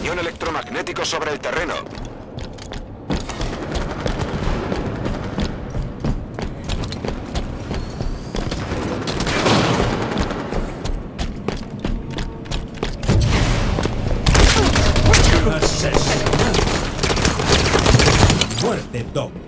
Cañón electromagnético sobre el terreno. Asesino. Muerte, Doc.